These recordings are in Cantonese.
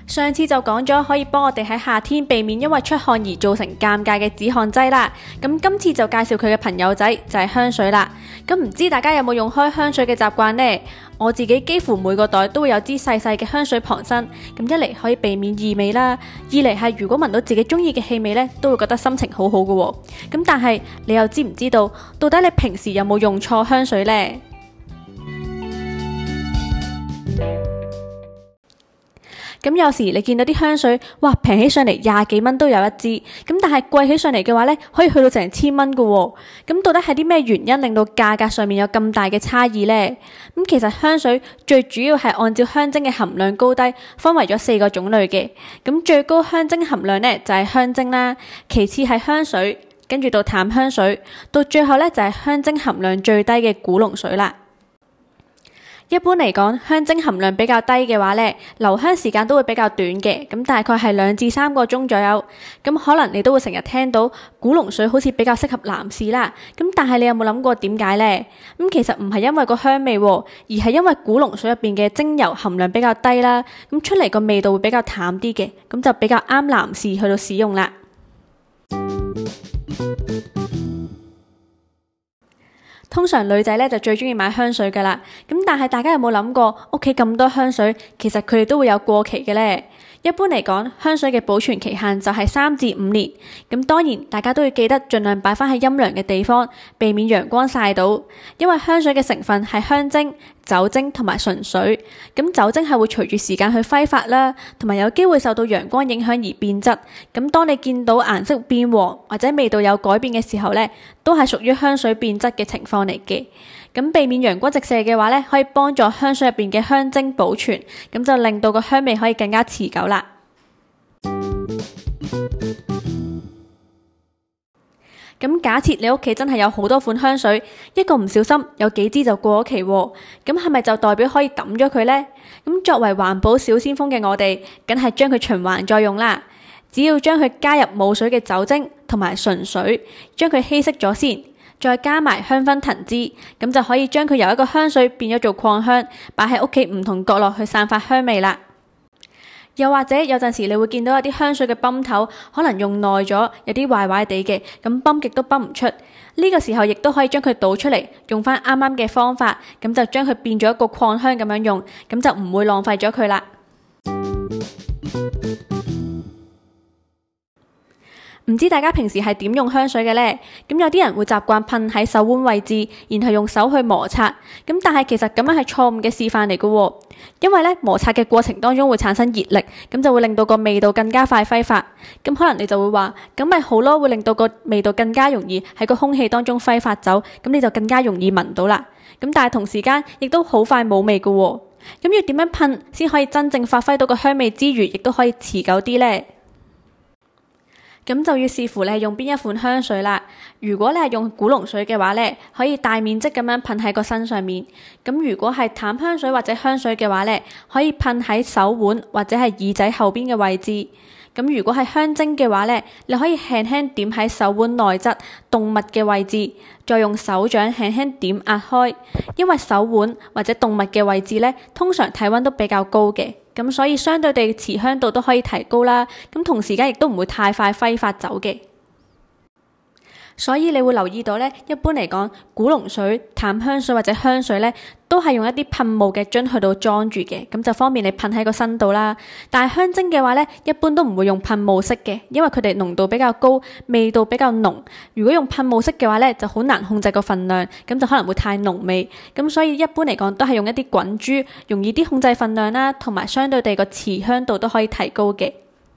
上次就講咗可以幫我哋喺夏天避免因為出汗而造成尷尬嘅止汗劑啦。咁今次就介紹佢嘅朋友仔就係香水啦。咁唔知大家有冇用開香水嘅習慣呢？我自己幾乎每個袋都會有支細細嘅香水傍身。咁一嚟可以避免異味啦，二嚟係如果聞到自己中意嘅氣味呢，都會覺得心情好好嘅喎。咁但係你又知唔知道，到底你平時有冇用錯香水呢？咁有時你見到啲香水，哇，平起上嚟20幾蚊都有一支，咁但係貴起上嚟嘅話呢，可以去到成1000蚊嘅喎。咁到底係啲咩原因令到價格上面有咁大嘅差異呢？咁其實香水最主要係按照香精嘅含量高低，分為咗4個種類嘅。咁最高香精含量呢，就係香精啦，其次係香水，跟住到淡香水，到最後呢，就係香精含量最低嘅古龍水啦。一般嚟講，香精含量比較低嘅話呢，留香時間都會比較短嘅，咁大概係2至3個鐘左右。咁可能你都會成日聽到古龍水好似比較適合男士啦。咁但係你有冇諗過點解呢？咁其實唔係因為個香味，而係因為古龍水入邊嘅精油含量比較低啦，咁出嚟個味道會比較淡啲嘅，咁就比較啱男士去到使用啦。通常女仔咧就最中意買香水噶啦，咁但係大家有冇諗過屋企咁多香水，其實佢哋都會有過期嘅呢？一般嚟講，香水嘅保存期限就係3至5年。咁當然，大家都要記得盡量擺翻喺陰涼嘅地方，避免陽光曬到。因為香水嘅成分係香精、酒精同埋純水。咁酒精係會隨住時間去揮發啦，同埋有機會受到陽光影響而變質。咁當你見到顏色變黃或者味道有改變嘅時候呢，都係屬於香水變質嘅情況嚟嘅。咁避免陽光直射嘅話呢，可以幫助香水入邊嘅香精保存，咁就令到個香味可以更加持久啦。咁假設你屋企真係有好多款香水，一個唔小心有幾支就過咗期喎，咁係咪就代表可以抌咗佢呢？咁作為環保小先鋒嘅我哋，梗係將佢循環再用啦。只要將佢加入冇水嘅酒精同埋純水，將佢稀釋咗先。再加埋香薰藤枝，咁就可以將佢由一個香水變咗做擴香，擺喺屋企唔同角落去散發香味啦。又或者有陣時你會見到有啲香水嘅泵頭可能用耐咗，有啲壞壞地嘅，咁泵極都泵唔出。呢個時候亦都可以將佢倒出嚟，用翻啱啱嘅方法，咁就將佢變咗一個擴香咁樣用，咁就唔會浪費咗佢啦。唔知大家平時係點用香水嘅呢？咁有啲人會習慣噴喺手腕位置，然後用手去摩擦。咁但係其實咁樣係錯誤嘅示範嚟嘅喎，因為摩擦嘅過程當中會產生熱力，咁就會令到個味道更加快揮發。咁可能你就會話，咁咪好咯，會令到個味道更加容易喺個空氣當中揮發走，咁你就更加容易聞到啦。咁但係同時間亦都好快冇味嘅喎。咁要點樣噴先可以真正發揮到個香味之餘，亦都可以持久啲呢？咁就要視乎你係用邊一款香水啦。如果你係用古龍水嘅話呢，可以大面積咁樣噴喺個身上面。咁如果係淡香水或者香水嘅話呢，可以噴喺手腕或者係耳仔後邊嘅位置。咁如果係香精嘅話呢，你可以輕輕點喺手腕內側動脈嘅位置，再用手掌輕輕點壓開。因為手腕或者動脈嘅位置呢，通常體溫都比較高嘅。咁所以相對地持香度都可以提高啦，咁同時間亦都唔會太快揮發走嘅。所以你會留意到呢，一般嚟講，古龍水、淡香水或者香水呢，都係用一啲噴霧嘅樽去到裝住嘅，咁就方便你噴喺個身度啦。但係香精嘅話呢，一般都唔會用噴霧式嘅，因為佢哋濃度比較高，味道比較濃。如果用噴霧式嘅話呢，就好難控制個份量，咁就可能會太濃味。咁所以一般嚟講，都係用一啲滾珠，容易啲控制份量啦，同埋相對地個持香度都可以提高嘅。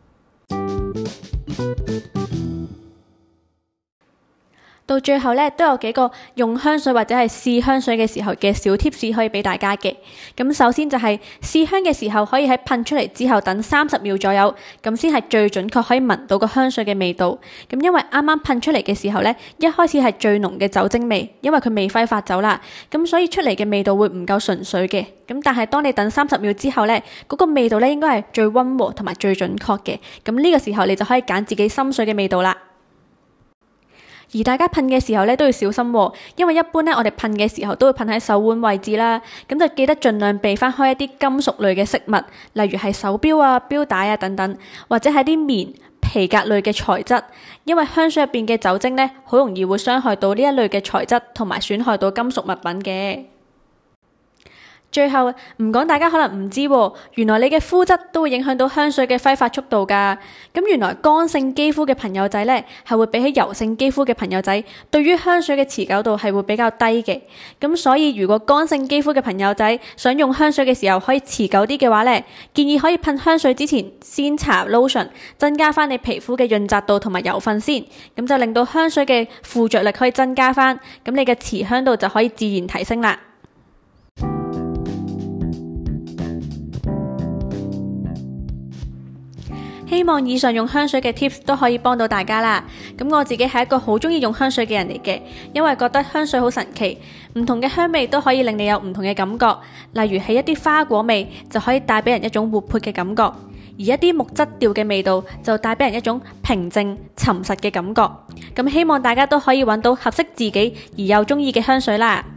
到最後呢，都有幾個用香水或者係試香水嘅時候嘅小 tips 可以俾大家嘅。咁首先就係試香嘅時候，可以喺噴出嚟之後等30秒左右，咁先係最準確可以聞到個香水嘅味道。咁因為啱啱噴出嚟嘅時候呢，一開始係最濃嘅酒精味，因為佢未揮發走啦，咁所以出嚟嘅味道會唔夠純粹嘅。咁但係當你等30秒之後呢，嗰個味道呢應該係最溫和同埋最準確嘅。咁呢個時候你就可以揀自己心水嘅味道啦。 而大家噴嘅時候咧都要小心喎，因為一般咧我哋噴嘅時候都會噴喺手腕位置啦，咁就記得盡量避翻開一啲金屬類嘅飾物，例如係手錶啊、錶帶啊等等，或者係啲棉、皮革類嘅材質，因為香水入邊嘅酒精咧好容易會傷害到呢一類嘅材質，同埋損害到金屬物品嘅。最後唔講，大家可能唔知喎，原來你嘅膚質都會影響到香水嘅揮發速度㗎。咁原來乾性肌膚嘅朋友仔呢，係會比起油性肌膚嘅朋友仔，對於香水嘅持久度係會比較低嘅。咁所以如果乾性肌膚嘅朋友仔想用香水嘅時候可以持久啲嘅話呢，建議可以噴香水之前先搽 lotion， 增加翻你皮膚嘅潤澤度同埋油分先，咁就令到香水嘅附着力可以增加翻，咁你嘅持香度就可以自然提升啦。希望以上用香水嘅 tips 都可以幫到大家啦。咁我自己係一個好中意用香水嘅人嚟嘅，因為覺得香水好神奇，唔同嘅香味都可以令你有唔同嘅感覺。例如係一啲花果味就可以帶俾人一種活潑嘅感覺，而一啲木質調嘅味道就帶俾人一種平靜沉實嘅感覺。咁希望大家都可以揾到合適自己而又中意嘅香水啦。